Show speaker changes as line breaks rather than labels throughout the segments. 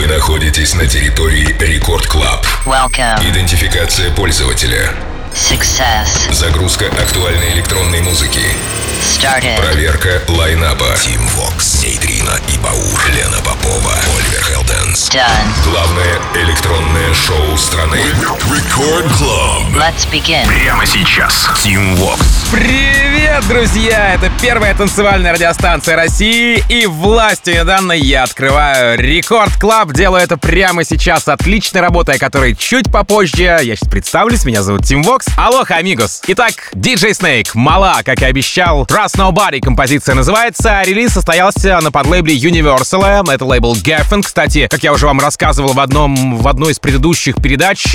Вы находитесь на территории Рекорд Клаб.
Welcome.
Идентификация пользователя.
Success.
Загрузка актуальной электронной музыки.
Started.
Проверка лайнапа. Тим Вокс, Нейтрино и Баур, Лена Попова, Оливер Хелденс.
Done.
Главное электронное шоу страны. Рекорд Клаб.
Let's begin.
Прямо сейчас. Тим Вокс.
Привет, друзья! Это первая танцевальная радиостанция России, и властью данной я открываю Рекорд Клаб. Делаю это прямо сейчас отличной работой, о которой чуть попозже. Я сейчас представлюсь, меня зовут Тим Вокс. Алоха, амигос! Итак, DJ Snake, Мала, как и обещал. Trust Nobody композиция называется. Релиз состоялся на подлейбле Universal. Это лейбл Geffen. Кстати, как я уже вам рассказывал в одной из предыдущих передач,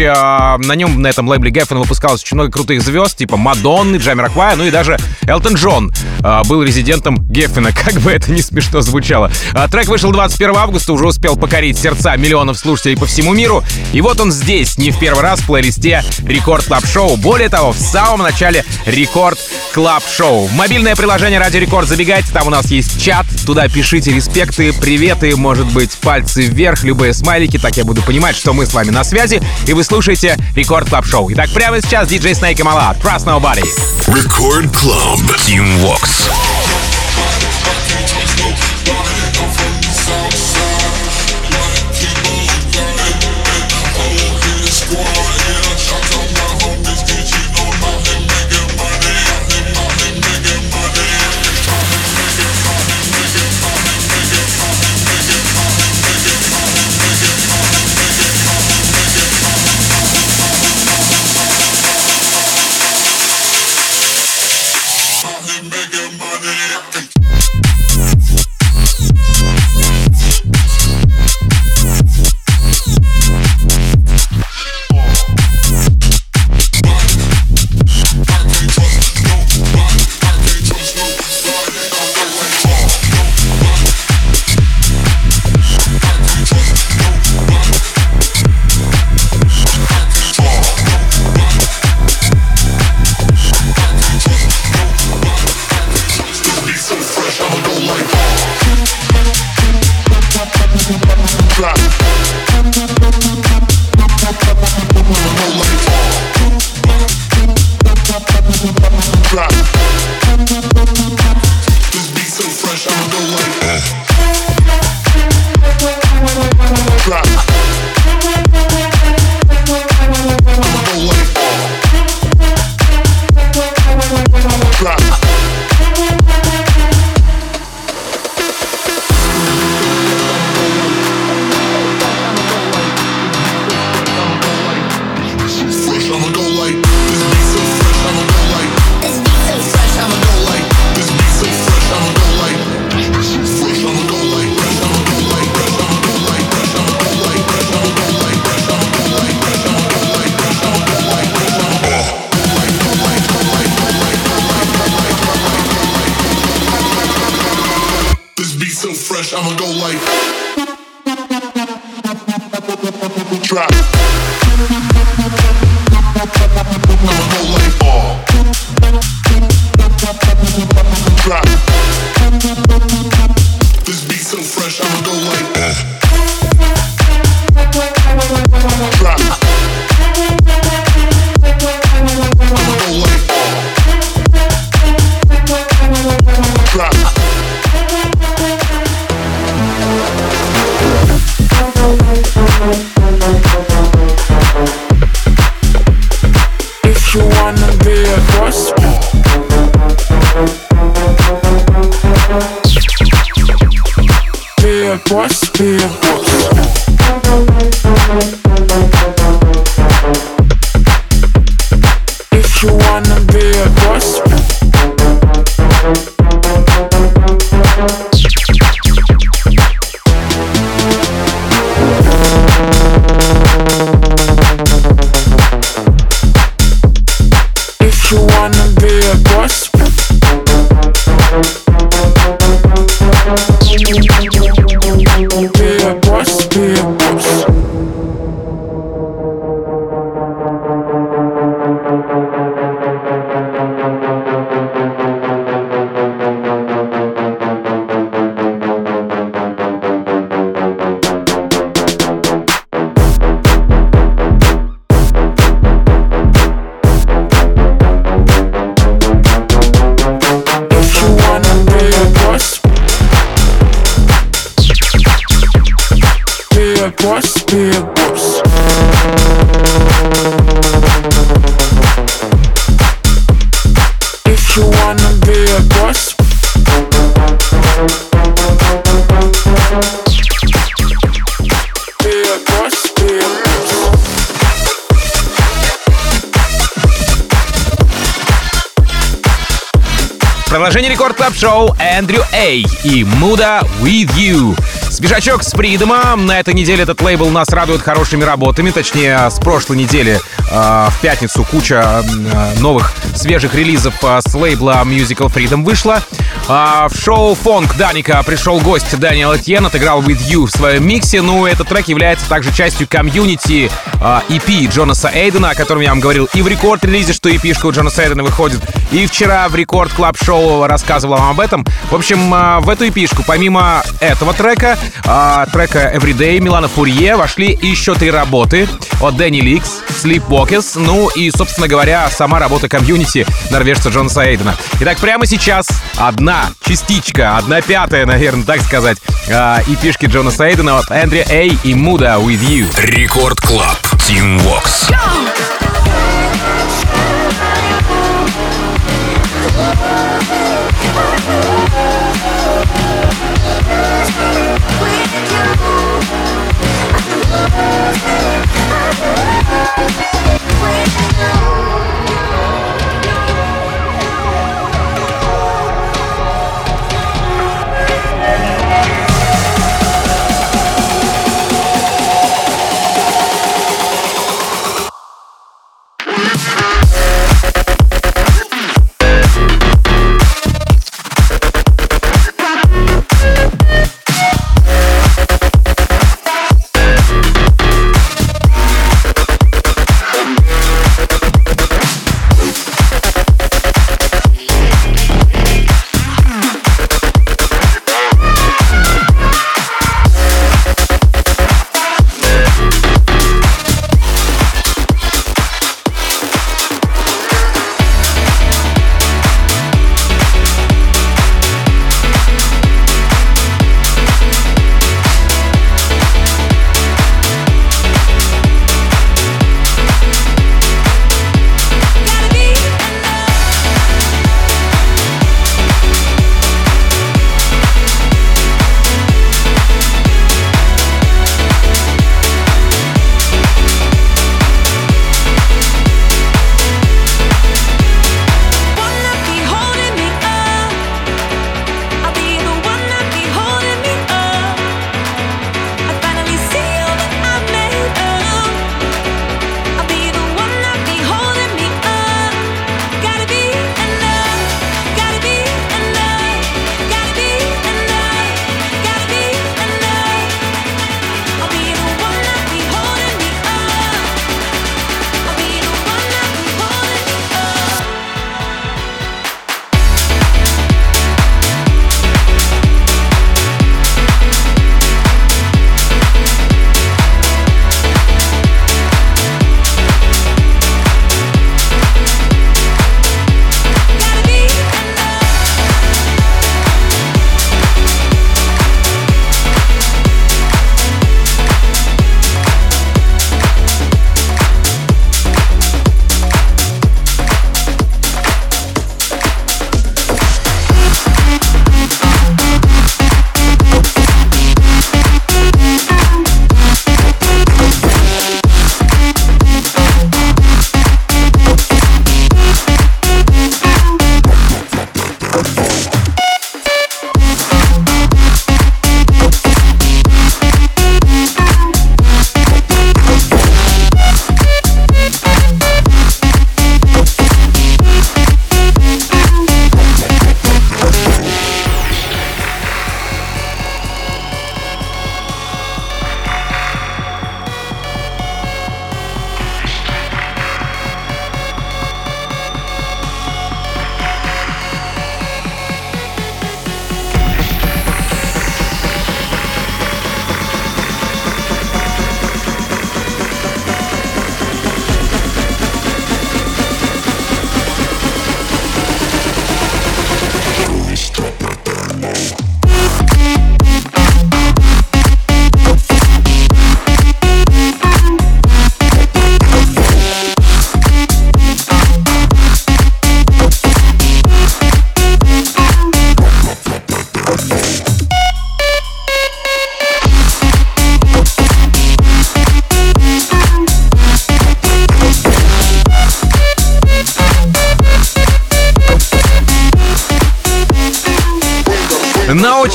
на этом лейбле Geffen выпускалось очень много крутых звезд, типа Мадонны, Джамироквая, ну и даже Элтон Джон был резидентом Геффена, как бы это ни смешно звучало. Трек вышел 21 августа, уже успел покорить сердца миллионов слушателей по всему миру. И вот он здесь, не в первый раз в плейлисте Рекорд Клаб Шоу. Более того, в самом начале Рекорд Клаб Шоу. В мобильное приложение Радио Рекорд забегайте, там у нас есть чат. Туда пишите респекты, приветы, может быть, пальцы вверх, любые смайлики, так я буду понимать, что мы с вами на связи. И вы слушаете Рекорд Клаб Шоу. Итак, прямо сейчас DJ Snake и Мала. Trust Nobody.
Record Club. Team Vox.
If you wanna a boss, be a boss. If you wanna be a boss, be a boss, be a boss.
Продолжение Рекорд Клаб Шоу Эндрю Эй и Муда With You. Свежачок с Freedom. На этой неделе этот лейбл нас радует хорошими работами. Точнее, с прошлой недели в пятницу куча новых свежих релизов с лейбла Musical Freedom вышла. В шоу Фонк Даника пришел гость Дэниел Этьен, отыграл With You в своем миксе. Ну, этот трек является также частью комьюнити EP Джонаса Эйдена, о котором я вам говорил и в рекорд-релизе, что EP-шка у Джонаса Эйдена выходит. И вчера в Рекорд Клаб Шоу рассказывал вам об этом. В общем, в эту EP-шку, помимо этого трека, трека Everyday Милана Фурье, вошли еще 3 работы от Дэнни Ликс, Sleepwalkers, ну и, собственно говоря, сама работа комьюнити норвежца Джонаса Эйдена. Итак, прямо сейчас одна частичка, 1/5, наверное, так сказать, EP-шки Джонаса Эйдена от Эндрю Эй и Муда With You.
Рекорд Клаб. Team Vox.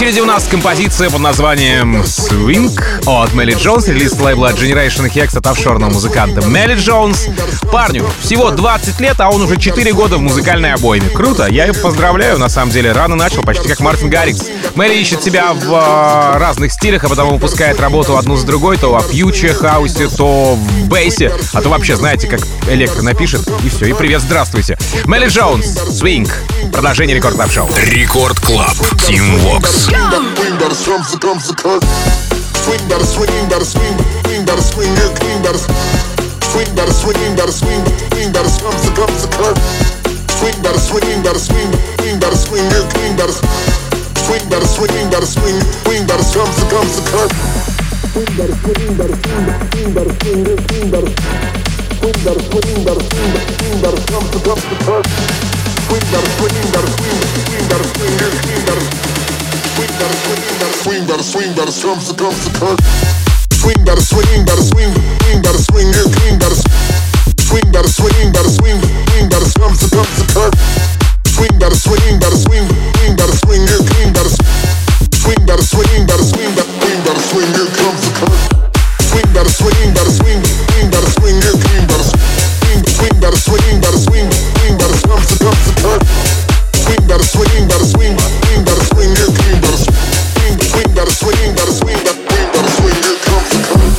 очереди у нас композиция под названием Swing от Мелли Джонс, релиз лейбла Generation Hex от офшорного музыканта Мелли Джонс. Парню всего 20 лет, а он уже 4 года в музыкальной обойме. Круто, я его поздравляю, на самом деле, рано начал, почти как Мартин Гаррикс. Мелли ищет себя в разных стилях, а потом выпускает работу одну за другой, то о фьюче, хаусе, то в бейсе, а то вообще, знаете, как электро напишет, и все, и привет, здравствуйте. Мелли Джонс, Swing, продолжение Рекорд Клаб Шоу.
Рекорд Клаб, Team Vox.
Swing, better swing, swing, better swing, better swing, better swing, yeah, clean, better swing, better swing, better swing, better swing, swing, better swing, better swing, better swing, yeah, clean, better swing, better swing, better swing, better swing, swing, better swing, better swing, better swing, yeah, clean, better swing, better swing, better swing, better swing, swing, better swing, better swing, better swing, yeah, clean, better swing, better swing, better swing, swing, better swing, better swing, better swing, yeah, clean, better swing, better swing, better swing, better swing, swing, better swing, better swing, better swing, yeah, clean, better swing, better swing, better swing, better swing, yeah, comes the curve. Swing, better swing, better swing, better swing, yeah, clean, better swing, better swing, better swing, better comes the curve. Swing, better swing, better swing, better swing, yeah, clean, better swing, better swing, better swing, better swing, yeah, comes the curve.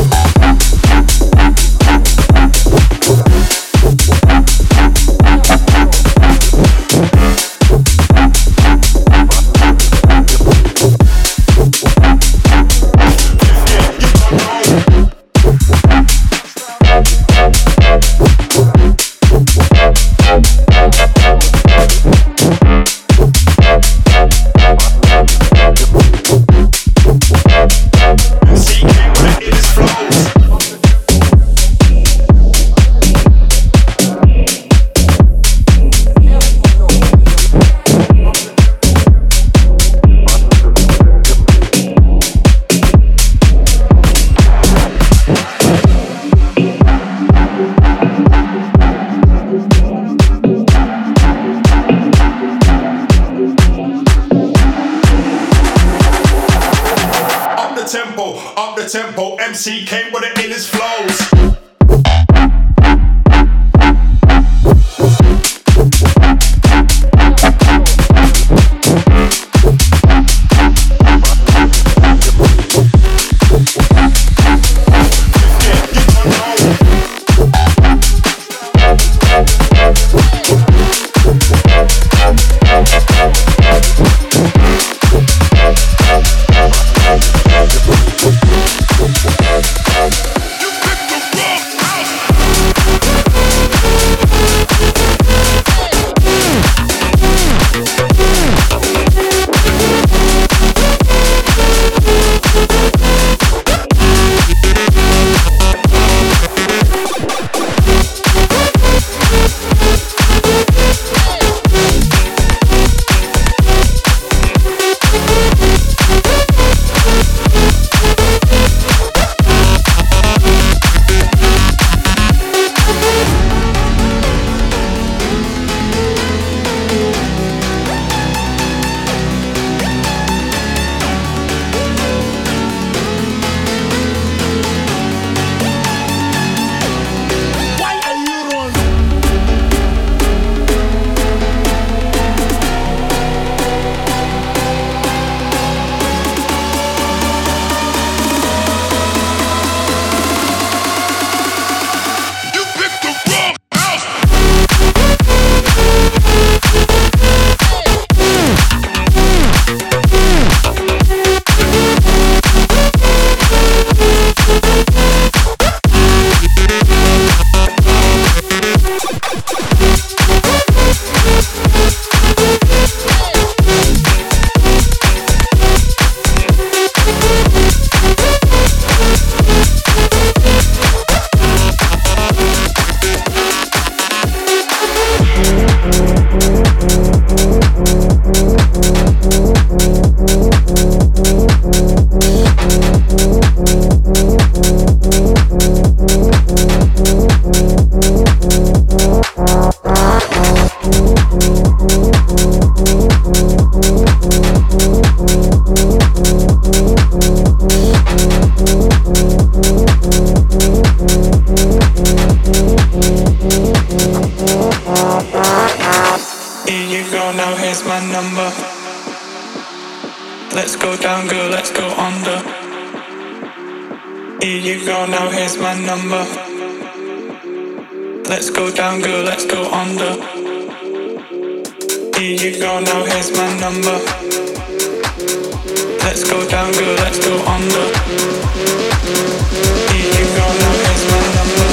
Tempo, MC came with it in his flows. You pick the wrong
down, girl, let's go under. Here you go, now here's my number. Let's go down, girl, let's go under. Here you go, now here's my number. Let's go down, girl, let's go under. Here you go, now here's my number.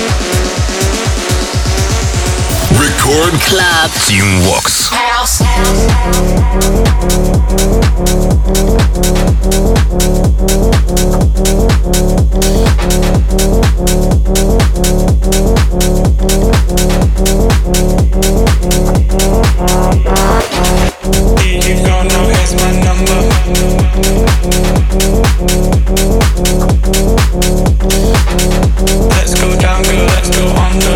Record
Club
Team Vox.
Here you go, now here's my number. Let's go down, girl, let's go under.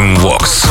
Team Vox.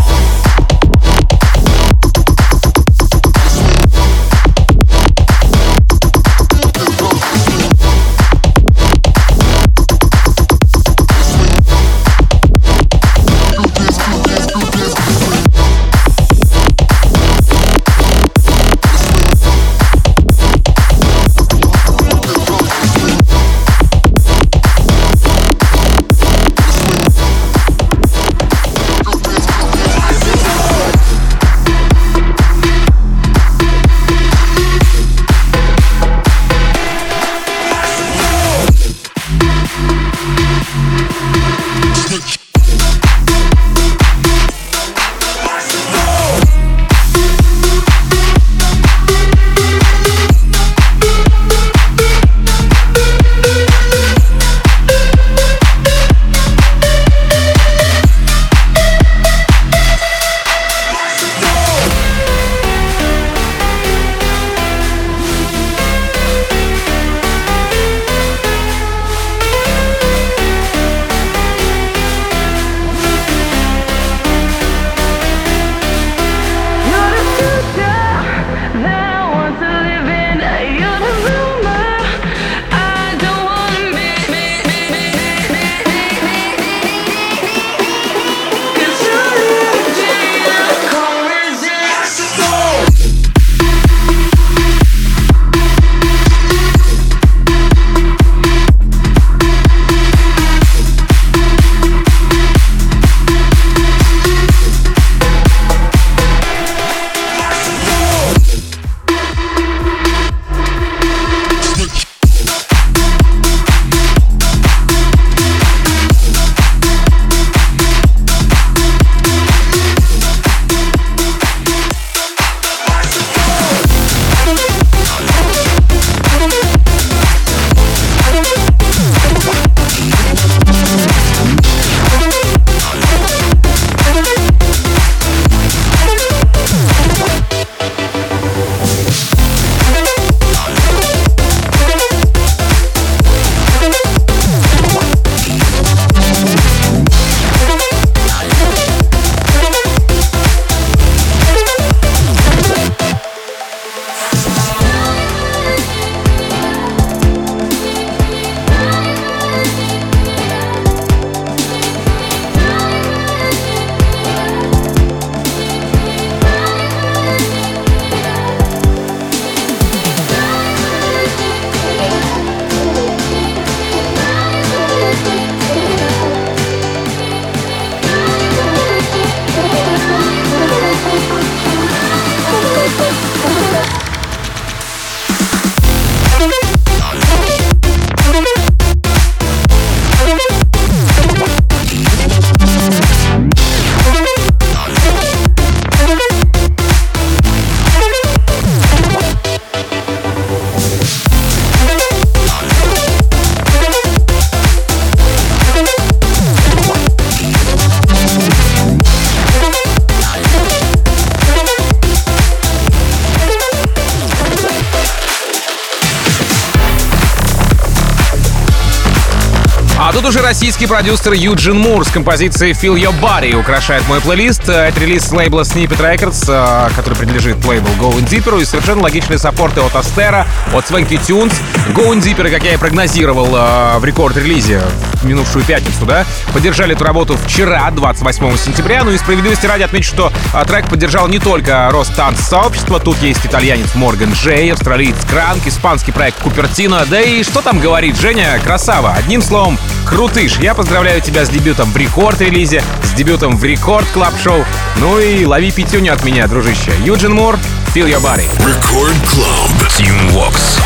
А тут уже российский продюсер Юджин Мур с композицией Feel Your Body украшает мой плейлист. Это релиз с лейбла Snippet Records, который принадлежит лейблу Going Deeper, и совершенно логичные саппорты от Астера, от Swanky Tunes. Going Deeper, как я и прогнозировал в рекорд-релизе в минувшую пятницу, да, поддержали эту работу вчера, 28 сентября. Ну и справедливости ради отмечу, что трек поддержал не только рост танц-сообщества. Тут есть итальянец Морган Джей, австралиец Кранк, испанский проект Купертино. Да и что там говорит, Женя, красава. Одним словом, крутыш. Я поздравляю тебя с дебютом в рекорд-релизе, с дебютом в рекорд-клаб-шоу. Ну и лови пятюню от меня, дружище. Юджин Мур, Feel Your Body.
Record Club Team Vox.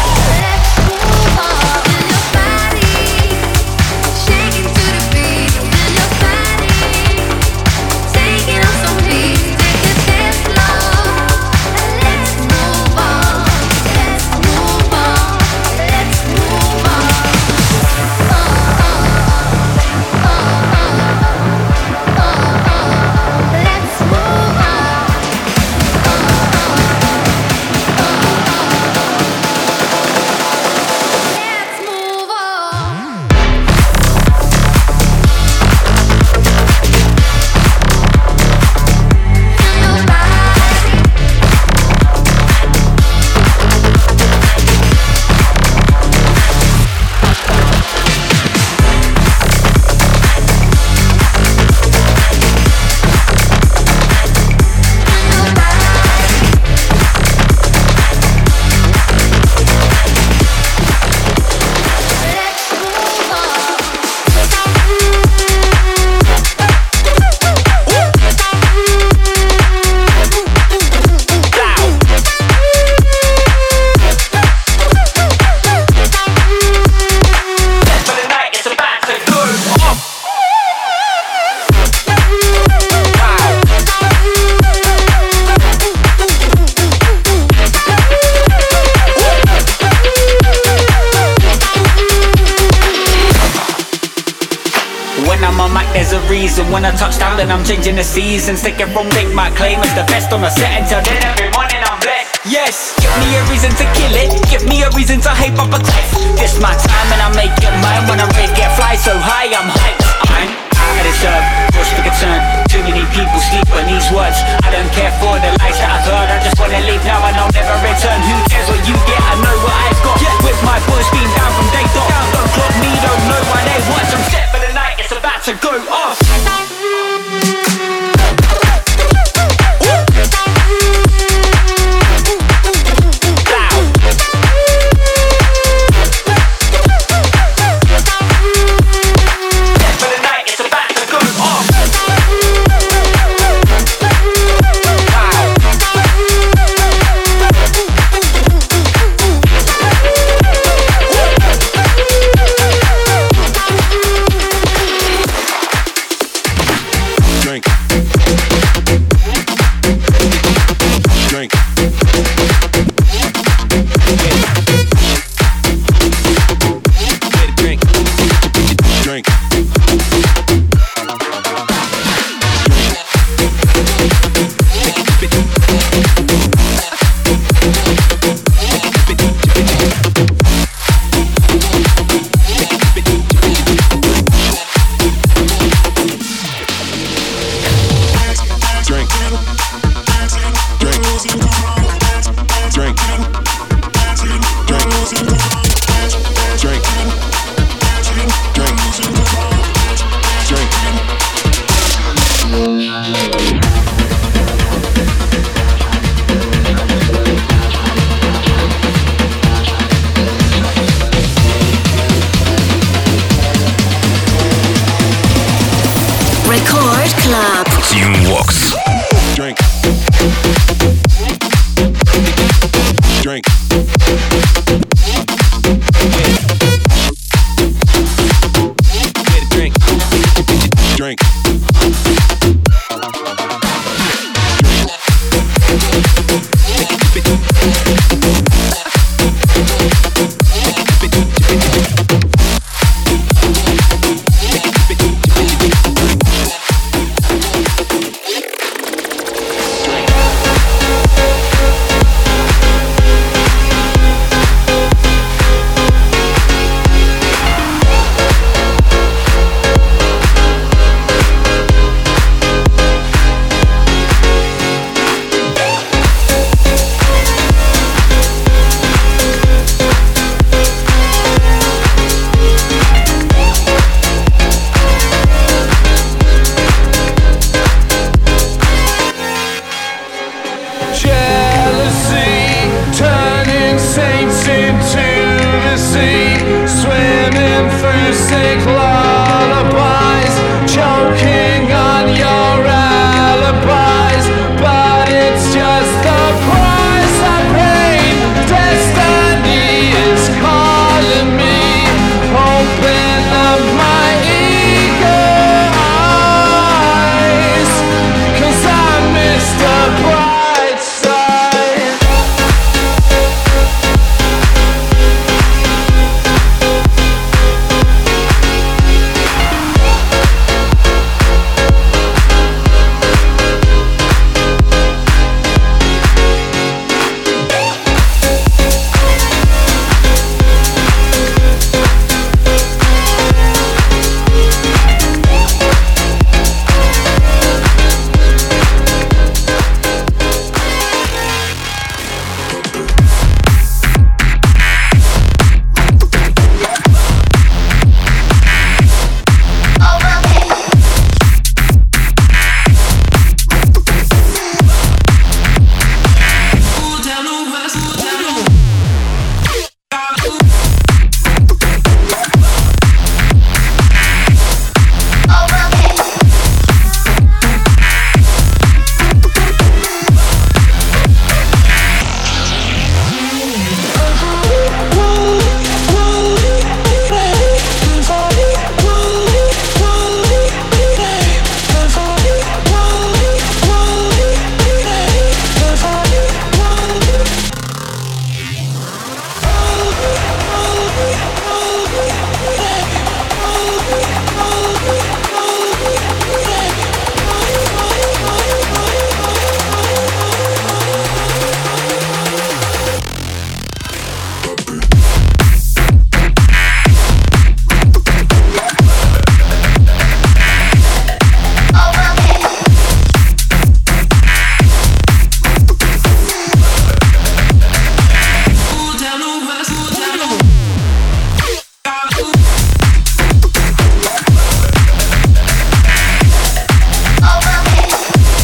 when I touch down, then I'm changing the seasons. Taking from Nick, my claim as the best on the set. Until then, every morning I'm blessed. Yes, give me a reason to kill it. Give me a reason to hype up a cliff. This my time and I make it mine. When I rate get fly so high, I'm hyped. I'm out of this earth, cause for concern. Too many people sleep on these words. I don't care for the lies that I've heard. I just wanna leave now and I'll never return. Who cares what you get? I know what I've got. With my boys being down from day dot. Don't clock me, don't know why they watch. I'm set for the night, it's about to go off.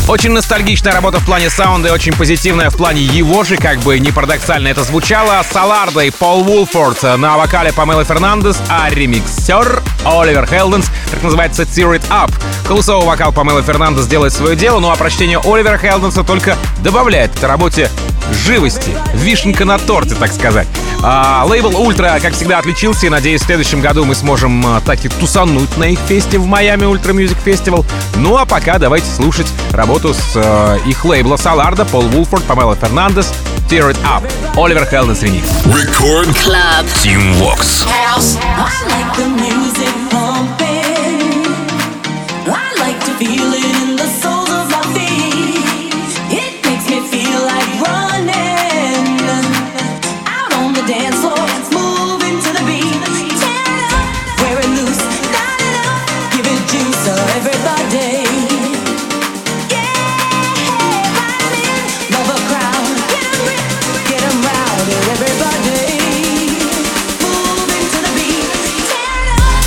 Очень ностальгичная работа в плане саунда и очень позитивная в плане его же, как бы не парадоксально это звучало. Солардо и Пол Вулфорд на вокале Памела Фернандес, а ремиксер Оливер Хелденс, так называется Tear It Up. Голосовой вокал Памела Фернандес делает свое дело, ну а прочтение Оливера Хелденса только добавляет этой работе живости, вишенка на торте, так сказать. Лейбл Ультра, как всегда, отличился, и, надеюсь, в следующем году мы сможем так и тусануть на их фесте в Майами Ультра Мьюзик Фестивал. Ну а пока давайте слушать работу с их лейбла Солардо, Пол Вулфорд, Памела Фернандес, Tear It Up, Оливер Хелденс ремикс.
Record Club Team Vox.
Feel it in the soles of my feet. It makes me feel like running out on the dance floor, moving to the beat. Tear it up, wear it loose, light it up, give it juice, everybody. Yeah, violin, love a crowd, get 'em round, everybody. Moving to the beat. Tear it up.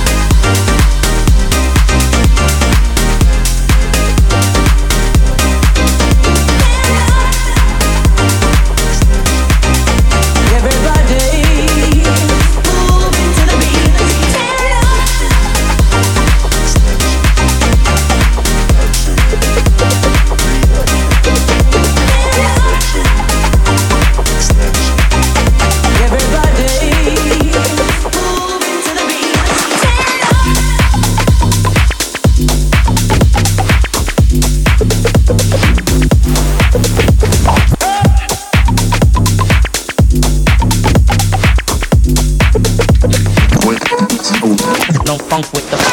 No funk with the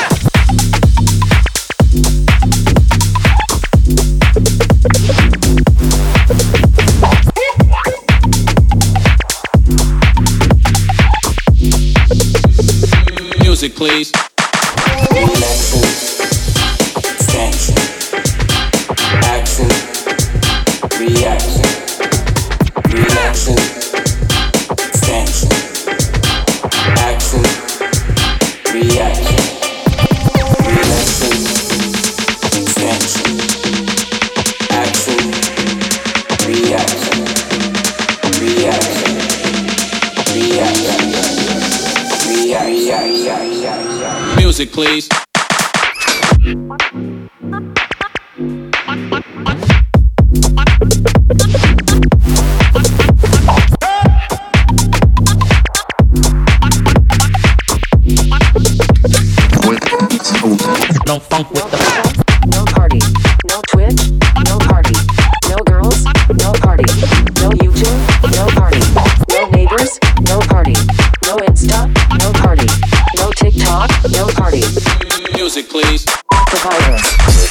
music, please. Extension, action, reaction, reaction, extension, action. Reaction, relaxing, extension, action, reaction, reaction, reaction. Music, please. No funk with the
no party, no Twitch, no party, no girls, no party, no YouTube, no party, no neighbors, no party, no Insta, no party, no TikTok, no party.
Music, please.
The virus.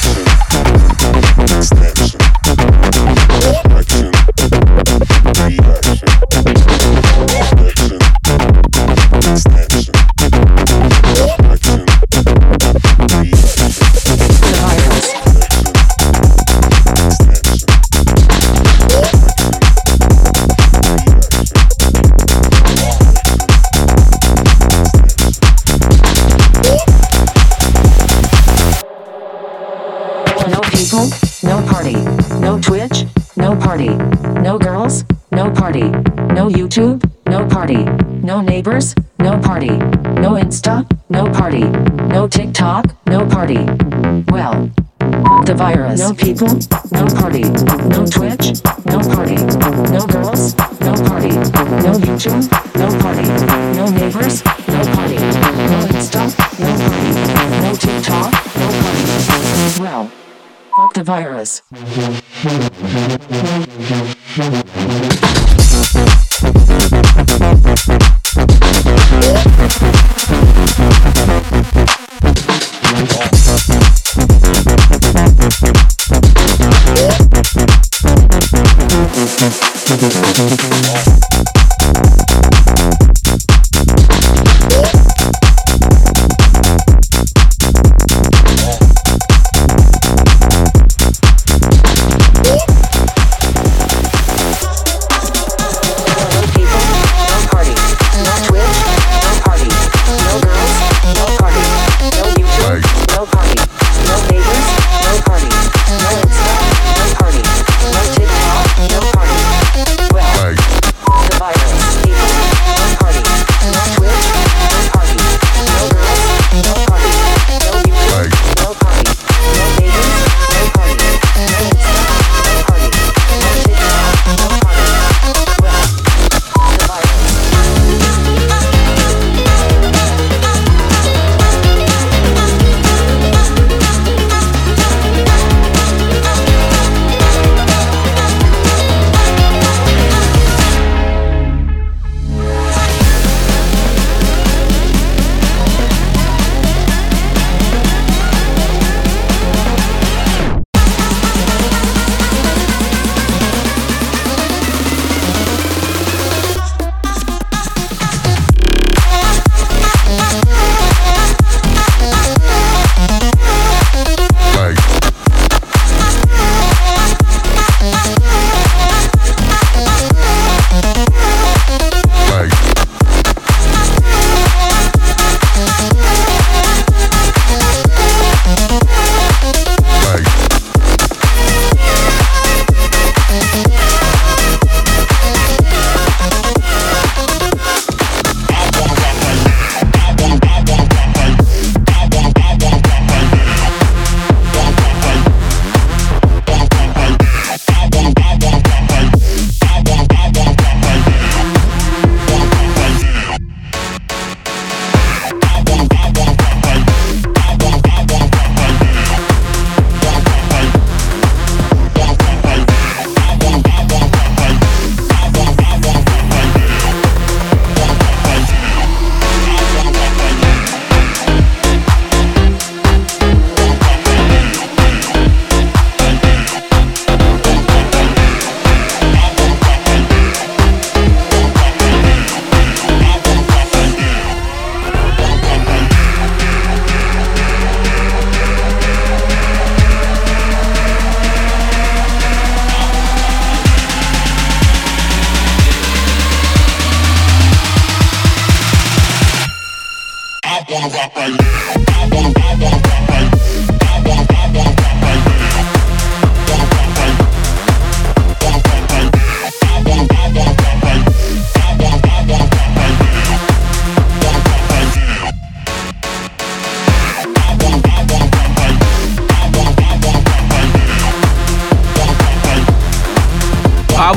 No party, no Twitch, no party, no girls, no party, no YouTube, no party, no neighbors, no party, no Insta, no party, no TikTok, no party. Well, the virus. No people, no party, no Twitch, no party, no girls, no party, no YouTube, no party, no neighbors, no party, no Insta, no party, no TikTok, no party. Well, fuck the virus. No party, no neighbors, no party, no Insta,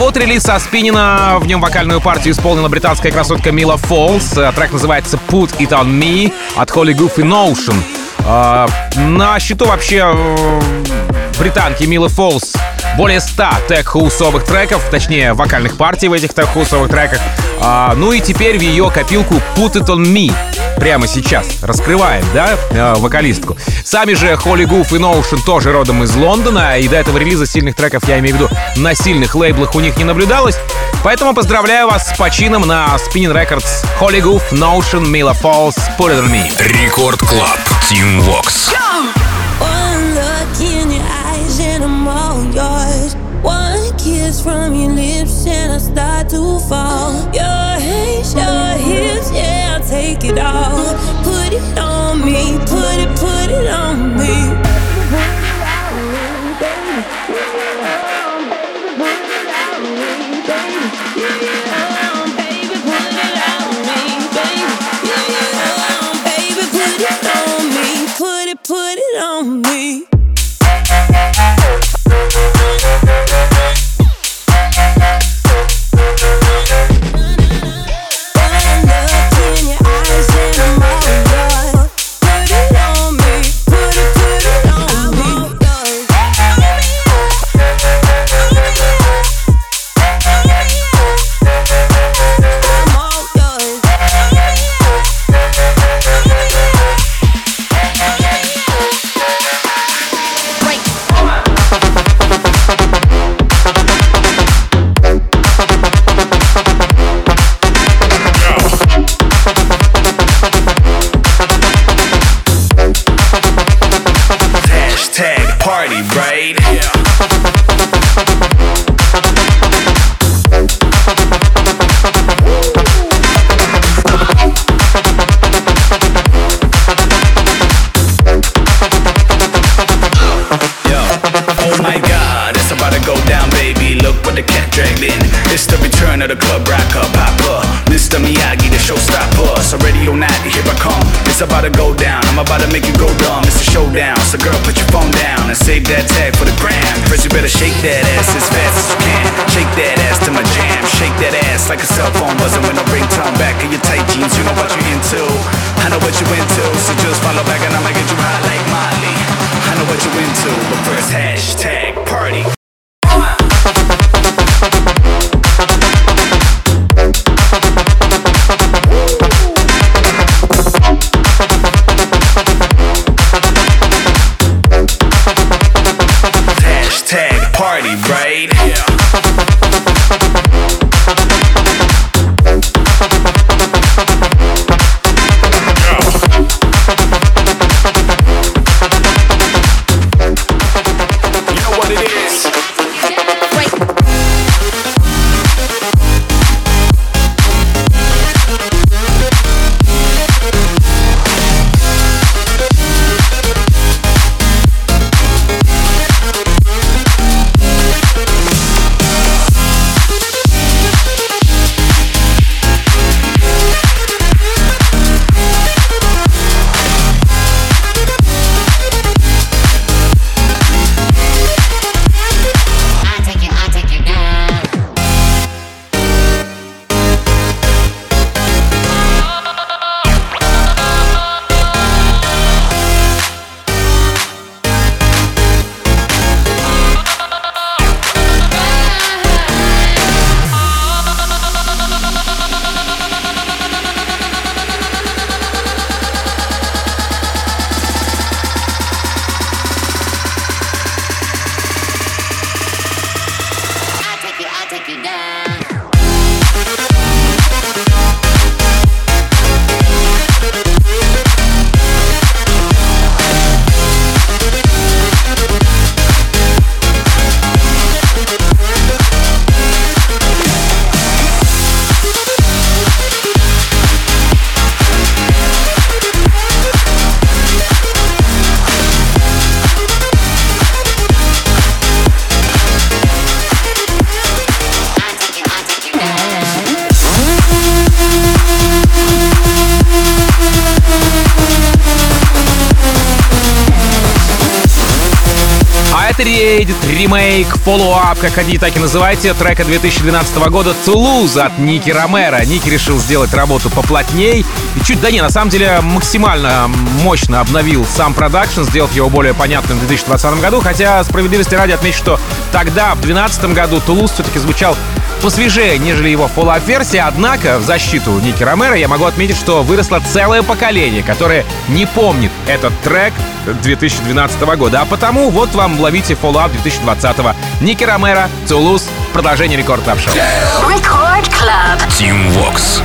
вот релиз со Спинина. В нем вокальную партию исполнила британская красотка Мила Фолс. Трек называется Put It On Me от Holy Goofy Notion. На счету вообще британки Милы Фолс более 100 тех-хаусовых треков, точнее вокальных партий в этих тех-хаусовых треках. Ну и теперь в ее копилку Put It On Me прямо сейчас раскрываем, да, вокалистку. Сами же Holy Goof и Notion тоже родом из Лондона, и до этого релиза сильных треков, я имею в виду, на сильных лейблах у них не наблюдалось. Поэтому поздравляю вас с почином на Spinnin' Records. Holy Goof, Notion, Mila Falls, Put It On Me.
Рекорд Клаб, Team Vox.
One look in your eyes and I'm all yours. One kiss from your lips and I start to fall. Your hands, your hips, yeah, I'll take it all. Put it on me, put it on me. Put it on me.
It's about to go down, I'm about to make you go dumb. It's a showdown, so girl put your phone down and save that tag for the gram. First you better shake that ass as fast as you can. Shake that ass to my jam, shake that ass like a cell phone buzzing with no ringtone. Back in your tight jeans, you know what you're into. I know what you into, so just follow back and I'ma get you hot like Molly. I know what you into, but first hashtag party.
Reiterated, ремейк, follow-up, как хотите, так и называйте, трека 2012 года Toulouse от Ники Ромеро. Ники решил сделать работу поплотней и чуть, да не, на самом деле максимально мощно обновил сам продакшн, сделав его более понятным в 2020 году, хотя справедливости ради отмечу, что тогда, в 2012 году, Toulouse все-таки звучал посвежее, нежели его фоллоуап-версия, однако в защиту Ники Ромеро я могу отметить, что выросло целое поколение, которое не помнит этот трек 2012 года, а потому вот вам ловите фоллоуап 2020. Ники Ромеро, Toulouse, продолжение Рекорд Клаб Шоу.
Record Club.
Team Vox.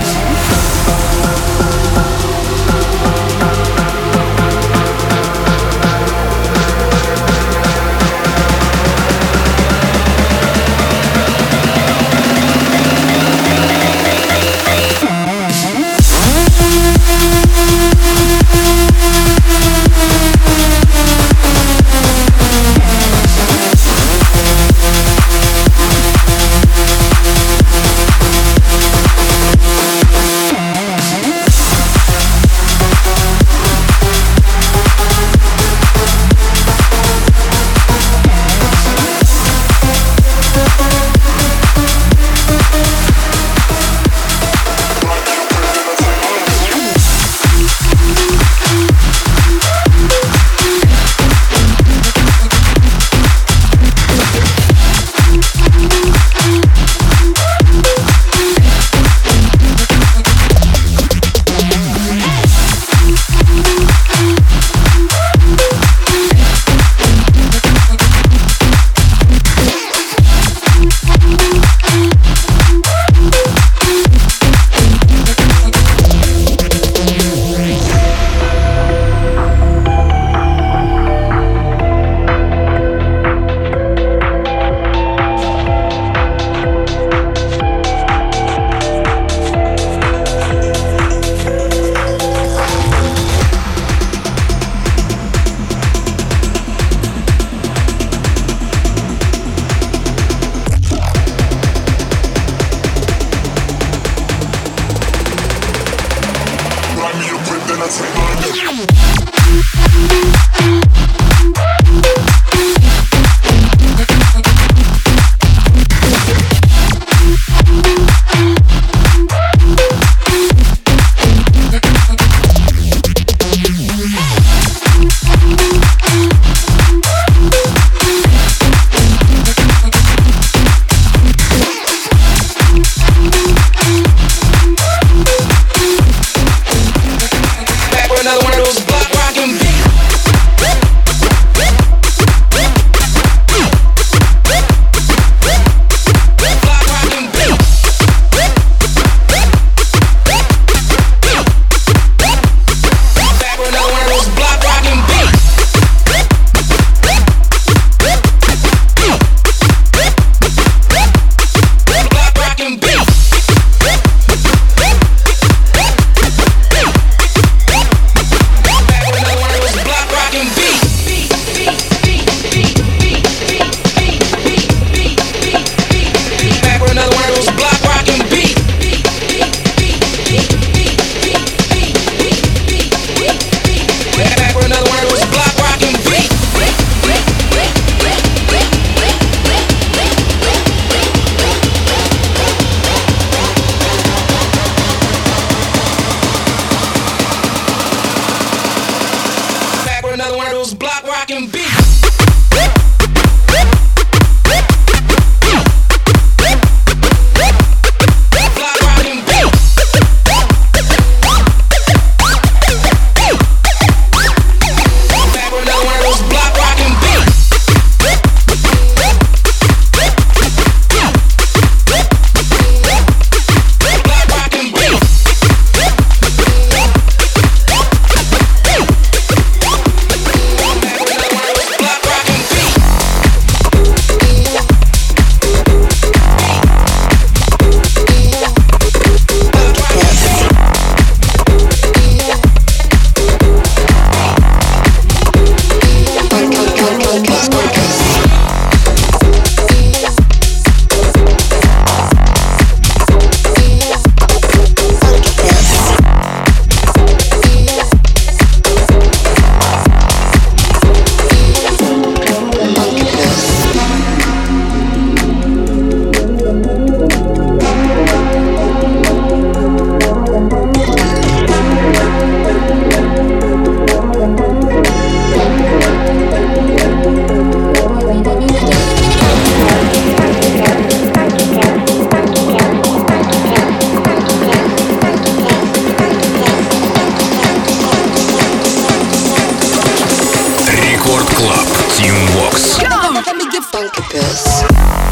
Incubus.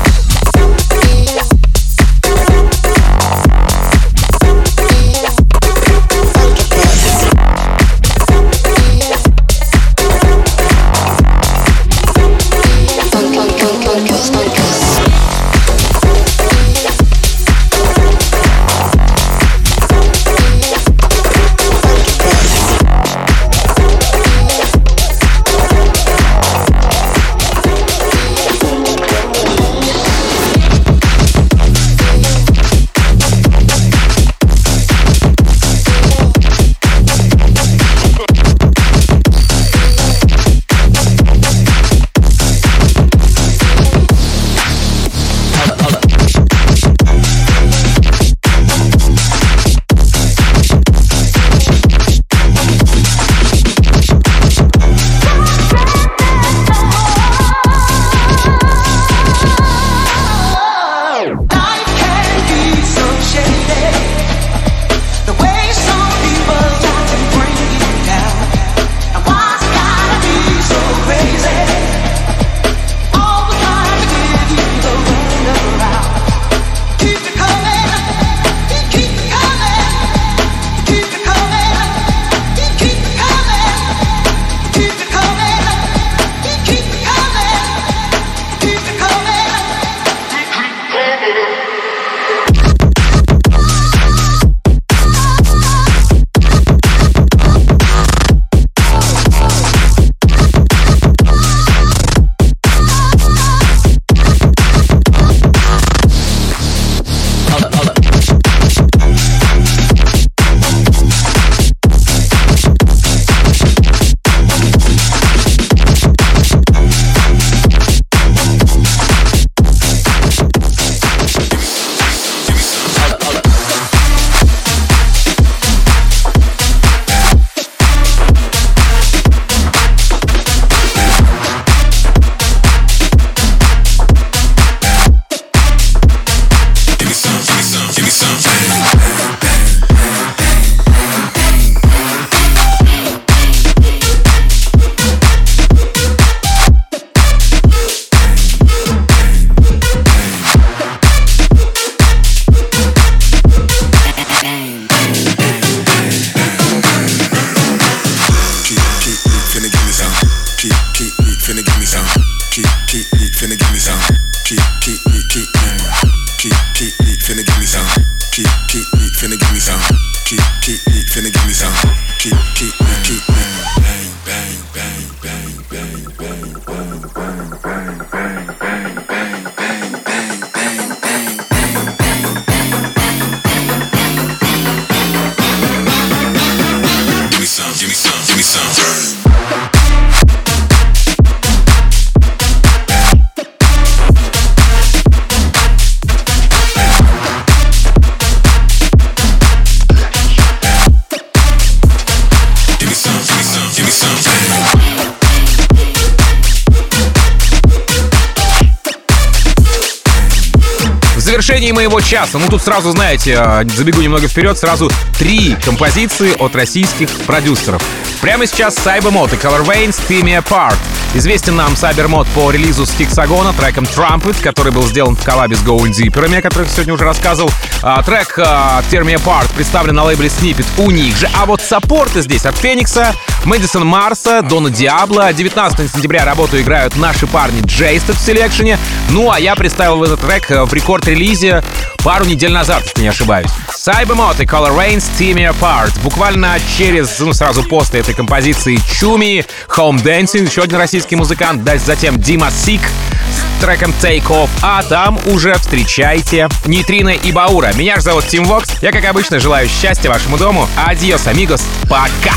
В завершении моего часа, тут сразу, знаете, забегу немного вперед, сразу 3 композиции от российских продюсеров. Прямо сейчас Cybermod и Color Veins Tear Me Apart. Известен нам Cybermod по релизу с Hexagona треком Trumpet, который был сделан в коллабе с Going Deeper, о которых сегодня уже рассказывал. Трек Tear Me Apart представлен на лейбле Snippet у них же. А вот саппорты здесь от Феникса, Мэдисон Марса, Дона Диабло. 19 сентября работу играют наши парни Джейстед в селекшене. Ну а я представил этот трек в рекорд-релизе пару недель назад, если не ошибаюсь. Cybermod и Color Veins Tear Me Apart. Буквально сразу после этой композиции Чуми, Home Dancing, еще один российский музыкант, затем Дима Сик с треком Take Off, а там уже встречайте Нейтрино и Баура. Меня же зовут Тим Вокс. Я, как обычно, желаю счастья вашему дому. Адьос, амигос. Пока.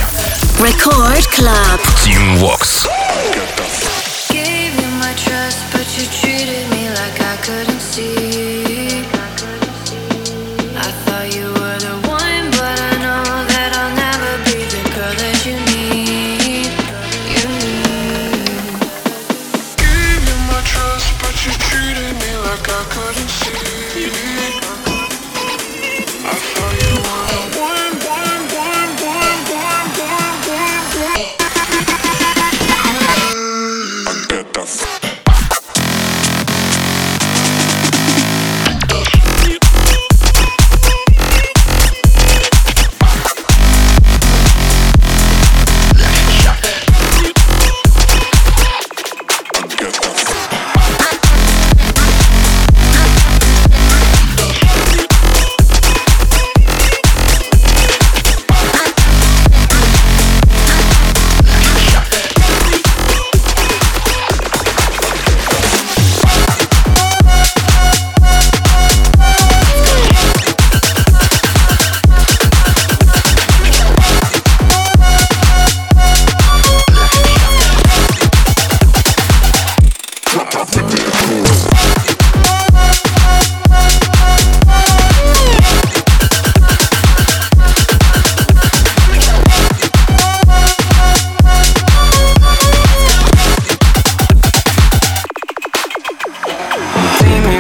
Record Club.
Team Vox.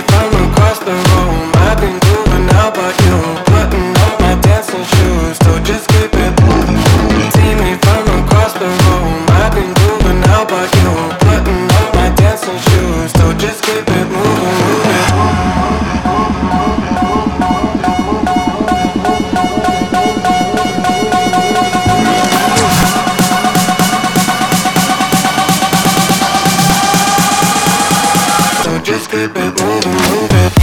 from across the room. I've been grooving out by you, putting on my dancing shoes, so just keep it moving. See me from across the room. I've been grooving out by you, putting on my dancing shoes, so just keep it moving, just keep it moving, moving.